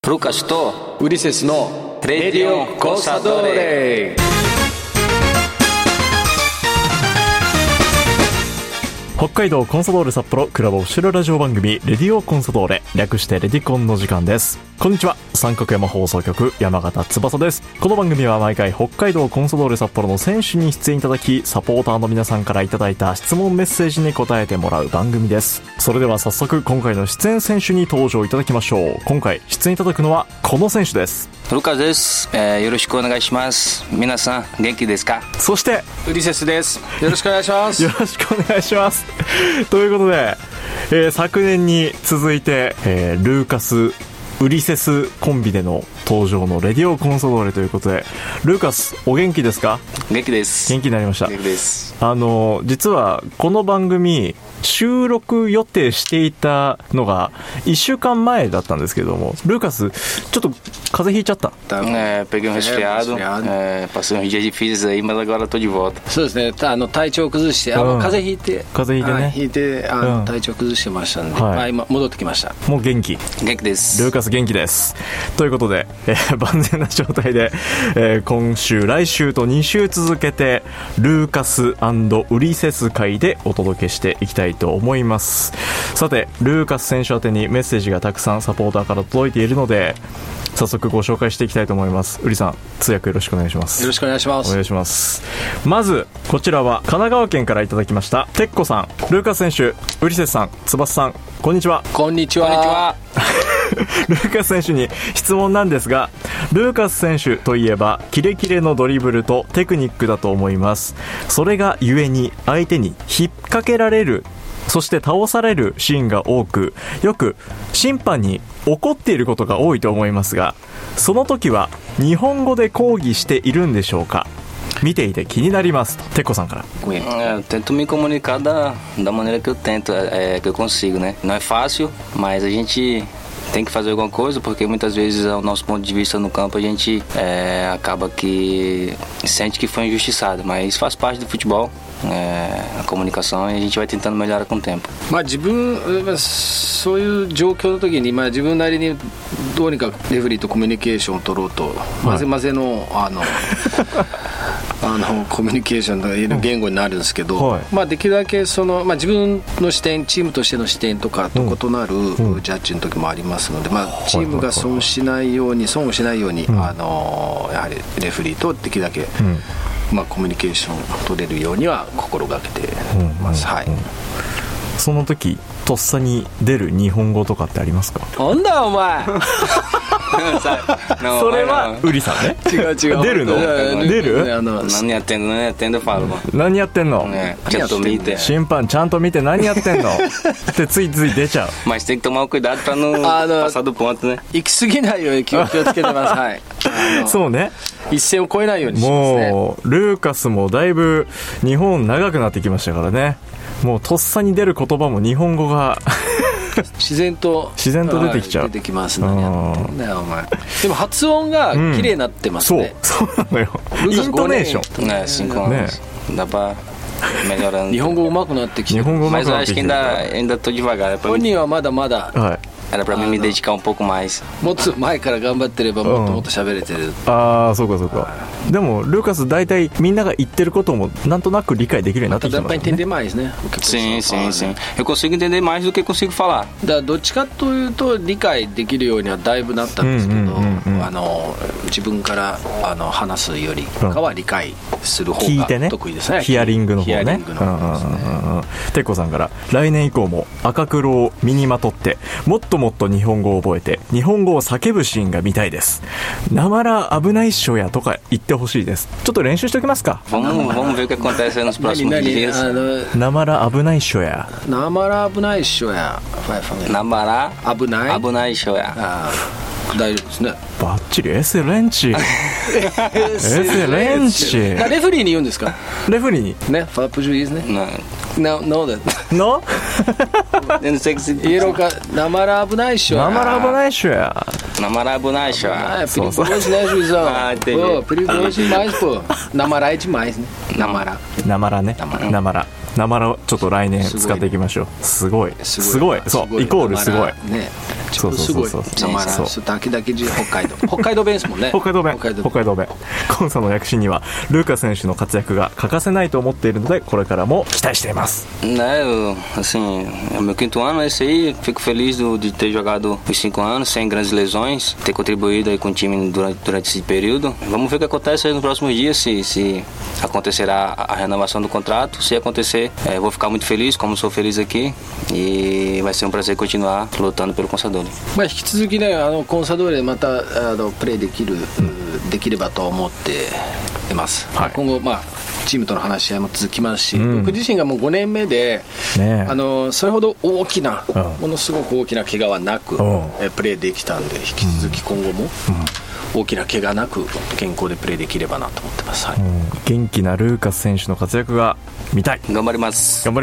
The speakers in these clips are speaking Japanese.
ルカスとウリセスのレディオコサドーレ。 北海道コンサドーレ札幌クラブオフィシャルラジオ番組レディオコンサドーレ、略してレディコンの時間です。こんにちは、三角山放送局山形翼です。この番組は毎回北海道コンサドーレ札幌の選手に出演いただき、サポーターの皆さんからいただいた質問メッセージに答えてもらう番組です。それでは早速今回の出演選手に登場いただきましょう。今回出演いただくのはこの選手です。 ルカスです、よろしくお願いします。皆さん元気ですか？ そしてウリセスです。よろしくお願いしますよろしくお願いしますということで、昨年に続いて、ルーカスウリセスコンビでの登場のレディオコンサドーレということで、ルーカスお元気ですか？ 元気です。 元気になりました。 元気です。 実はこの番組収録予定していたのが1週間前だったんですけども、ルーカスちょっと風邪ひいちゃった。 peguei resfriado, passei uns dias difíceis aí, mas agora tô de volta。 そうですね、体調崩して、風邪ひいて体調崩してましたんで、今戻ってきました。 もう元気です。 ルーカス元気です。ということで、万全な状態で、今週来週と2週続けてルーカス&ウリセス会でお届けしていきたいと思います。さて、ルーカス選手宛てにメッセージがたくさんサポーターから届いているので、早速ご紹介していきたいと思います。ウリさん、通訳よろしくお願いします。 よろしくお願いします。 お願いします。まずこちらは神奈川県からいただきましたてっこさん。ルーカス選手、ウリセスさん、翼さん、こんにちは。 こんにちは。 ルーカス選手に質問なんですが、ルーカス選手といえばキレキレのドリブルとテクニックだと思います。それがゆえに相手に引っ掛けられる、そして倒されるシーンが多く、よく審判に怒っていることが多いと思いますが、その時は日本語で抗議しているんでしょうか？見ていて気になりますと、てっこさんから。 Eu tento me comunicar da maneira que eu tento, que eu consigo, né? Não é fácil, mas a gente tem que fazer alguma coisa, porque muitas vezes, ao nosso ponto de vista no campo, a gente acaba que sente que foi injustiçado, mas faz parte do futebol, a comunicação, e a gente vai tentando melhorar com o tempo。 自分そういう状況の時に、自分なりにどうにかレフェリーとコミュニケーションを取ろうと、混ぜ混ぜのコミュニケーションの言語になるんですけど、できるだけ自分の視点、チームとしての視点とかと異なるジャッジの時もありますので、チームが損をしないように、やはりレフェリーとできるだけ、コミュニケーションを取れるようには心がけてます。 その時とっさに出る日本語とかってありますか？ なんだお前それはウリさんね。 違う出るの？出る？ 何やってんのfalo。 何やってんの？ ちゃんと見て。 審判ちゃんと見て何やってんのってついつい出ちゃう。 Mas tem que tomar o cuidado para não passar do pontoね。 行き過ぎないように気をつけてます。 そうね。 一線を越えないようにしますね。 もうルーカスもだいぶ日本長くなってきましたからね。もうとっさに出る言葉も日本語が自然と出てきちゃう。出てきますね。でも発音が綺麗になってますね。 そうなのよ。イントネーション。 ね。 日本語上手くなってきてる。 Mas eu acho que ainda tô devagar。 本人はまだまだ。 Era pra mim me dedicar um pouco mais。 もっと前から頑張ってればもっともっと喋れてる。 そうかそうか。でもルーカス大体みんなが言ってることもなんとなく理解できるようになってきてますね。 entender maisね。 Sim. Eu consigo entender mais do que consigo falar。 だからどっちかというと理解できるようにはだいぶなったんですけど、自分から話すよりかは理解する方が得意ですね。 ヒアリングの方ね。てっこさんから、来年以降も赤黒を身にまとってもっともっと日本語を覚えて日本語を叫ぶシーンが見たいです。なまら危ないっしょやとか言ってほしいです。ちょっと練習しておきますか。 Vamos ver o que acontece nos próximos dias。 なまら危ないっしょや。 なまら危ないっしょや。 なまら危ないっしょや。 大丈夫ですね。 バッチリ。エセレンチレフェリーに言うんですか？ レフェリーにね。ファープジュイーズね。No that No イエローか。なまら危ないっしょや。 なまら危ないっしょや。 なまら危ないっしょや。 perigoso né, juizão? Pô, perigoso demais, pô. なまらいdemaisね。なまらね。なまらちょっと来年使っていきましょう。すごいそう、イコールすごいね。 すごいなまらすだけ北海道弁ですもんね。 北海道弁コンサの躍進にはルーカス選手の活躍が欠かせないと思っているので、これからも期待しています。 Assim, é o meu quinto ano esse aí. Fico feliz de ter jogado os 5 anos sem grandes lesões, ter contribuído aí com o time durante esse período. Vamos ver o que acontece aí nos próximos dias, se acontecerá a renovação do contrato. Se acontecer, eu vou ficar muito feliz, como sou feliz aqui, e vai ser um prazer continuar lutando pelo Consadole. 引き続きね、コンサドーレまたプレーできればと思っています、はい、今後チームとの話し合いも続きますし、僕自身がもう5年目で、それほど大きな、ものすごく大きな怪我はなく、プレーできたんで、引き続き今後も大きな怪我なく健康でプレーできればなと思ってます、はい、 元気なルーカス選手の活躍が見たい。 頑張ります。 続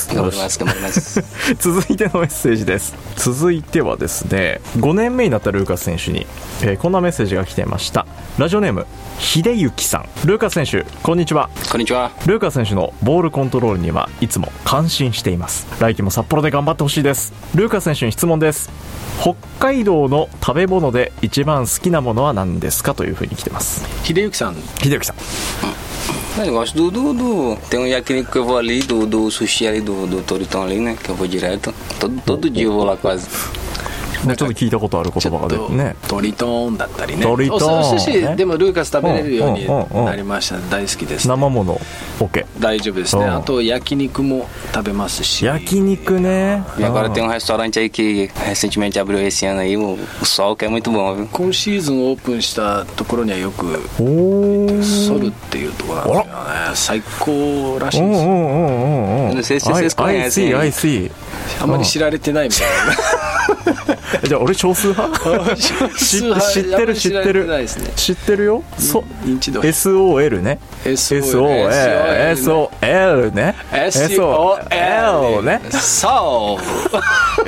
いてのメッセージです。続いてはですね、5年目になったルーカス選手に、こんなメッセージが来ていました。ラジオネーム秀幸さん。ルーカス選手、こんにちは。 こんにちは。 ルーカス選手のボールコントロールにはいつも感心しています。来季も札幌で頑張ってほしいです。ルーカス選手に質問です。北海道の食べ物で一番好きなものは何ですか、というふうに来てます。 秀幸さん。 Eu gosto tem um yakiniku que eu vou ali, do sushi ali, do Toritão ali, né? Que eu vou direto. Todo dia eu vou lá quase. ちょっと聞いたことある言葉が出てね。 トリトーンだったりね。 トリトーン、 お寿司でもルーカス食べれるようになりました、大好きです、ね、 生もの OK 大丈夫ですね。あと焼肉も食べますし。 焼肉ね。 E agora tem um restaurante aí que recentemente abriu esse ano aí, o Sol, que é muito bom, viu? 今シーズンオープンしたところにはよくソルっていうところなんですよね。最高らしいです。 Não sei se vocês conhecem. I see あまり知られてないみたいな。 じゃあ俺少数派知ってるよ。 認知度 SOL ね。SOL ね。SOL ね。 そう。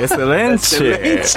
エスレンチ。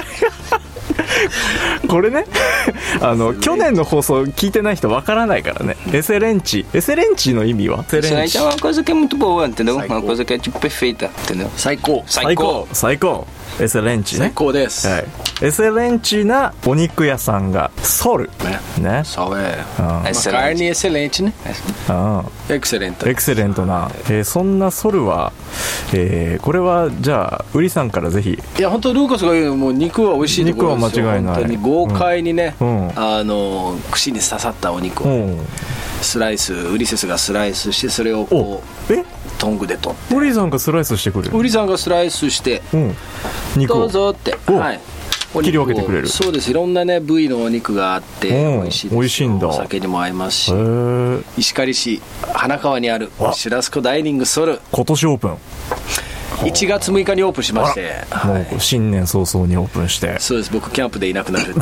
これね、去年の放送聞いてない人わからないからね。エセレンチの意味は？ エセレンチé uma coisa que é muito boa, entendeu? Uma coisa que é tipo perfeita, entendeu? 最高。 エセレンチね。 最高です、 はい、エセレンチなお肉屋さんがソルね。 そうcarne excelenteね。エクセレントな、そんなソルは、これはじゃあウリさんからぜひ。 いや本当ルーカスが言うもう肉は美味しいところですよ。 肉は間違いない。 本当に豪快にね、串に刺さったお肉を、スライス、ウリセスがスライスして、それをこうトングで取って、 ウリさんがスライスしてくれる。 ウリさんがスライスして、 肉をどうぞって、はい、 切り分けてくれる。 そうです。いろんなね部位のお肉があって美味しいです。美味しいんだ。お酒にも合いますし。石狩市花川にあるシュラスコダイニングソル、 今年オープン、 1月6日にオープンしまして、 もう新年早々にオープンして。 そうです。僕キャンプでいなくなるって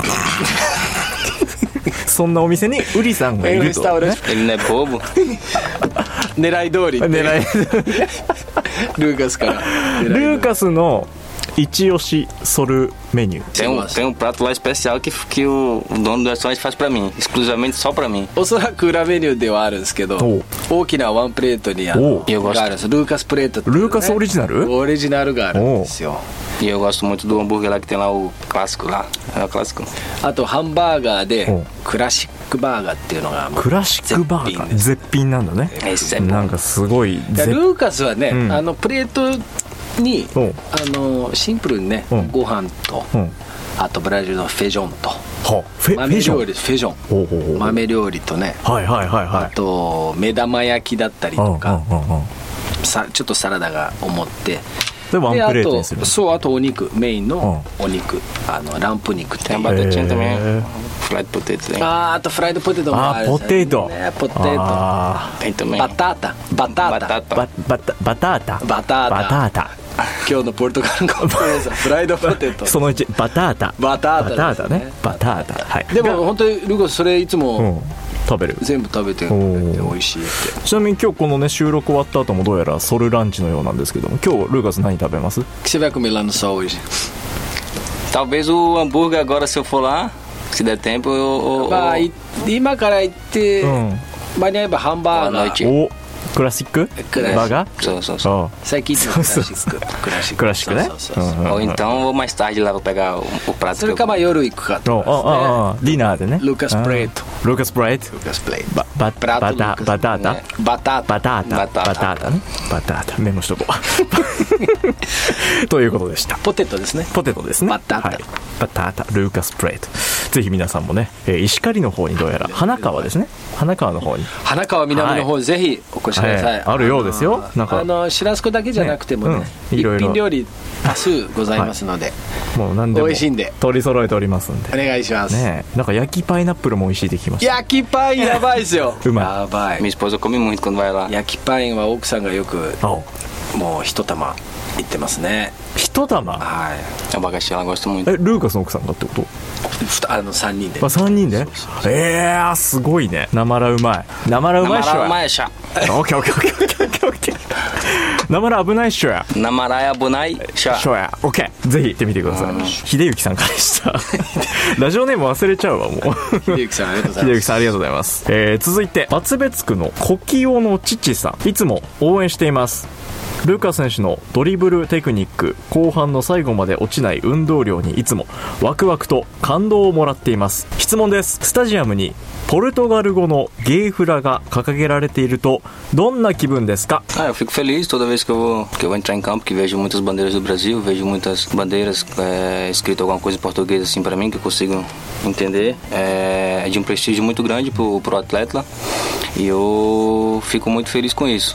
そんなお店にウリさんがいると、ね、 狙い通りルーカスからルーカスの一押しソルメニュー。 Tem um prato lá especial que o dono do restaurante faz pra mim, exclusivamente só pra mim. おそらく裏メニューではあるんですけど、大きなワンプレートにがあるんです。ルーカスプレートって、ね、 ルーカスオリジナルがあるんですよ。 E eu gosto muito do hambúrguer lá que tem lá o clássico lá, é o clássico. あとハンバーガーでクラシックバーガーっていうのがクラシックバーガー絶品なんだね。なんかすごい。ルーカスはね、プレートにシンプルにね、ご飯と、あとブラジルのフェジョンと豆料理、フェジョン豆料理とね、あと目玉焼きだったりとか、ちょっとサラダが思ってでワンプレートにする。 そう、あとお肉、メインのお肉、ランプ肉って。 フライドポテトね。 あとフライドポテトもある。 ポテトバタータ今日のポルトガル語フライドポテトその1バタータね。バタータ、はい。 でも本当にルーカスそれいつも食べる。 全部食べて美味しいって。 ちなみに今日このね収録終わった後もどうやらソルランチのようなんですけども、今日ルーカス何食べます？ Que você vai comer lá no Sol hoje? Talvez o hambúrguer agora, se eu for lá, se der tempo eu... 今から行って間に合えばハンバーガー。 クラシックバーガー。 そうそうそう。 最近のクラシック。 クラシックね。 Ou então vou mais tarde lá vou pegar o prato. それかまあ夜行くかとかディナーでね。 ルーカスプレート。 ルーカスプレート。バタータ。バタータね。バタータ。メモしとこう。ということでした。 ポテトですね。 ポテトですね。 バタータ。 はい、バタータルーカスプレート。ぜひ皆さんもね、石狩の方にどうやら花川ですね。花川の方に。 花川南の方にぜひお越しください。 あるようですよ。なんかシュラスコだけじゃなくてもね、一品料理多数ございますので、 もう何でも美味しいんで取り揃えておりますんでお願いします。 ね、なんか焼きパイナップルも美味しいって聞きました。 焼きパインやばいですよ。 うまい。 やばい。 Minha esposa come muito quando vai lá. 焼きパインは奥さんがよくもう一玉いってますね。 一玉。 はい。 Abacaxi ela gosta muito. ルーカスの奥さんがってこと？ 3人で。 3人で？すごいね。なまらうまい。なまらうまいっしょ。 なまらうまいっしょ。 オッケーオッケーオッケーオッケーオッケー。なまら危ないっしょや。 なまら危ないっしょ。 オッケー。ぜひ行ってみてください。秀幸さんからでした。ラジオネーム忘れちゃうわもう。 秀幸さんありがとうございます。 秀幸さんありがとうございます。続いて厚別区の小清の父さん、いつも応援しています。ルーカス選手のドリブルテクニック、後半の最後まで落ちない運動量にいつもワクワクと感動をもらっています。質問です。スタジアムにポルトガル語のゲーフラが掲げられているとどんな気分ですか？ Eu fico feliz toda vez que eu vou entrar em campo, que vejo muitas bandeiras do Brasil, vejo muitas bandeiras escrito alguma coisa em português assim para mim que eu consigo entender. É de um prestígio muito grande pro atleta e eu fico muito feliz com isso.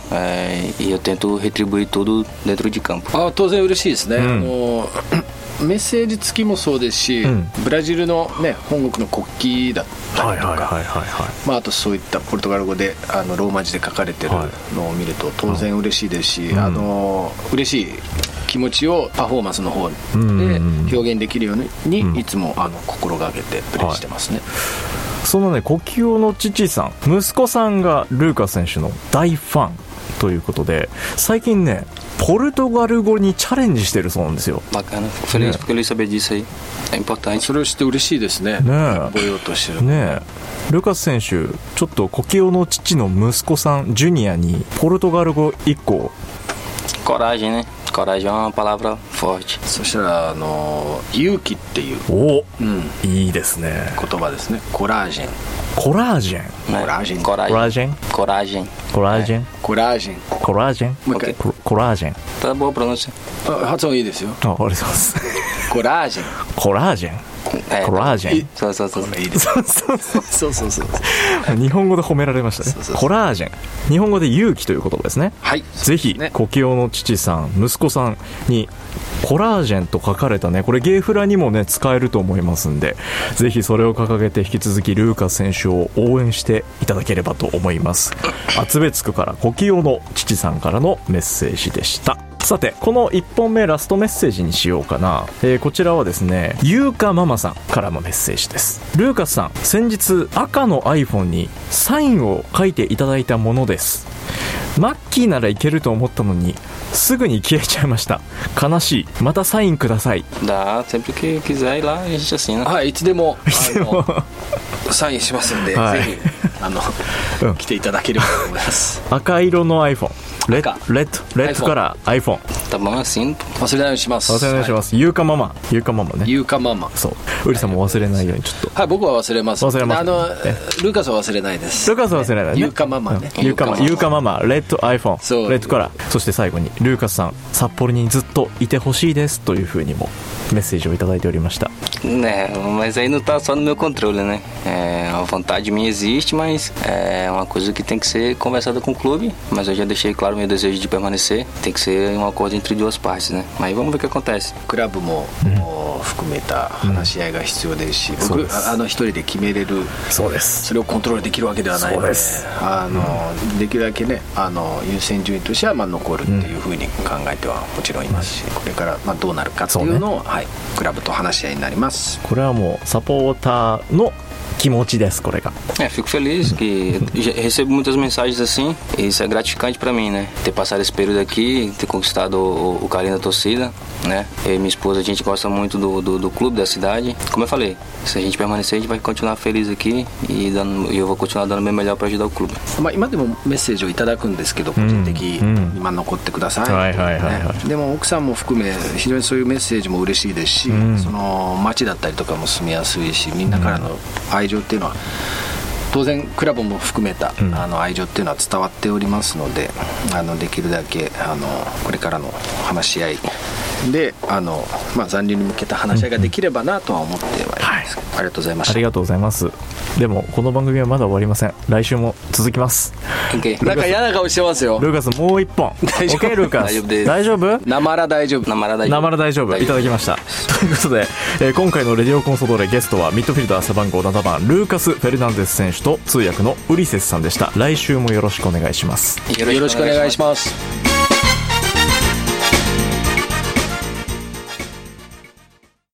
E eu tento retribuir tudo dentro de campo. 当然嬉しいですね。メッセージ付きもそうですし、ブラジルの、ね、本国の国旗だったりとか、あとそういったポルトガル語でローマ字で書かれてるのを見ると当然嬉しいですし、嬉しい気持ちをパフォーマンスの方で表現できるように、いつも心がけてプレーしてますね。 そのね、小清の父さん、息子さんがルーカス選手の大ファンということで、最近ねポルトガル語にチャレンジしてるそうなんですよ。 Bacana, fico feliz porque ele saber disso aí. É importante. それを知って嬉しいですね。覚えようとしてるね。ルーカス選手、ちょっと小清の父の息子さんジュニアにポルトガル語1個。 Coragem, né? Coragem é uma palavra forte. そしたら勇気っていういいですね。 言葉ですね。コラージェン。 コラージェン。 コラージェン。 コラージェン。 コラージェン。 コラージェン。 コラージェン。 コラージェン。 もう一回。 コラージェン。 Tá boa a pronúncia. 発音いいですよ。 ありがとうございます。 コラージェン。 コラージェン。コラージェン。 そうそうそう。 いいです。 日本語で褒められましたね。コラージェン。日本語で勇気という言葉ですね。 はい。 ぜひ小清の父さん、息子さんにコラージェンと書かれたね、これゲーフラにもね使えると思いますんで、ぜひそれを掲げて引き続きルーカス選手を応援していただければと思います。厚別区から小清の父さんからのメッセージでした。さて、この1本目ラストメッセージにしようかな。こちらはですね、ゆうかママさんからのメッセージです。ルーカスさん、先日赤の iPhone にサインを書いていただいたものです。マッキーならいけると思ったのにすぐに消えちゃいました。悲しい。またサインください。 Dá, sempre que quiser ir lá a gente assina. はい、いつでもサインしますんで、ぜひ来ていただければと思います。 赤色の iPhone、レッドから iPhone。 Tá bom assim. 忘れないようにします。 忘れないようにします。ゆうかママね。ゆうかママ。そう。ウリさんも忘れないようにちょっと。 はい、僕は忘れます。 忘れます。 ルーカスは忘れないです。 ルーカスは忘れないね。 ゆうかママね。 ゆうかママ、レッド iPhone。レッドから。そして最後にルーカスさん、札幌にずっといてほしいですというふうにもメッセージをいただいておりました。 Né, mas aí não tá só no meu controle, né? A vontade minha existe, mas é uma coisa que tem que ser conversada com o clube. Mas eu já deixei claro meu desejo de permanecer. Tem que ser um acordo entre duas partes, né? Mas vamos ver o que acontece. クラブも含めた話し合いが必要ですし、僕一人で決めれる。 そうです。 それをコントロールできるわけではないので、できるだけね、優先順位としては残るっていうふうに考えてはもちろんいますし、これからどうなるかっていうのをクラブと話し合いになります。 これはもうサポーターの気持ちです。これが。 Fico feliz que recebo muitas mensagens assim, e isso é gratificante para mim, né? Ter passado esse período aqui, ter conquistado o carinho da torcida, né? Eu e minha esposa, a gente gosta muito do clube, da cidade. Como eu falei, se a gente permanecer, a gente vai continuar feliz aqui e eu vou continuar dando o meu melhor para ajudar o clube. 今でもメッセージをいただくんですけど、個人的、今残ってください。でも奥さんも含め非常にそういうメッセージも嬉しいですし、その街だったりとかも住みやすいし、みんなからの愛情っていうのは当然クラブも含めた愛情っていうのは伝わっておりますので、できるだけこれからの話し合いで残留に向けた話し合いができればなとは思ってはいます、ありがとうございました。 ありがとうございます。でもこの番組はまだ終わりません。来週も続きます。 なんか嫌な顔してますよ。 ルーカスもう一本。 大丈夫 OK ルーカス大丈夫？ なまら大丈夫。 なまら大丈夫いただきました。ということで、今回のレディオコンソドーレゲストはミッドフィルダー背番号7番ルーカス・フェルナンデス選手と通訳のウリセスさんでした。来週もよろしくお願いします。 よろしくお願いします。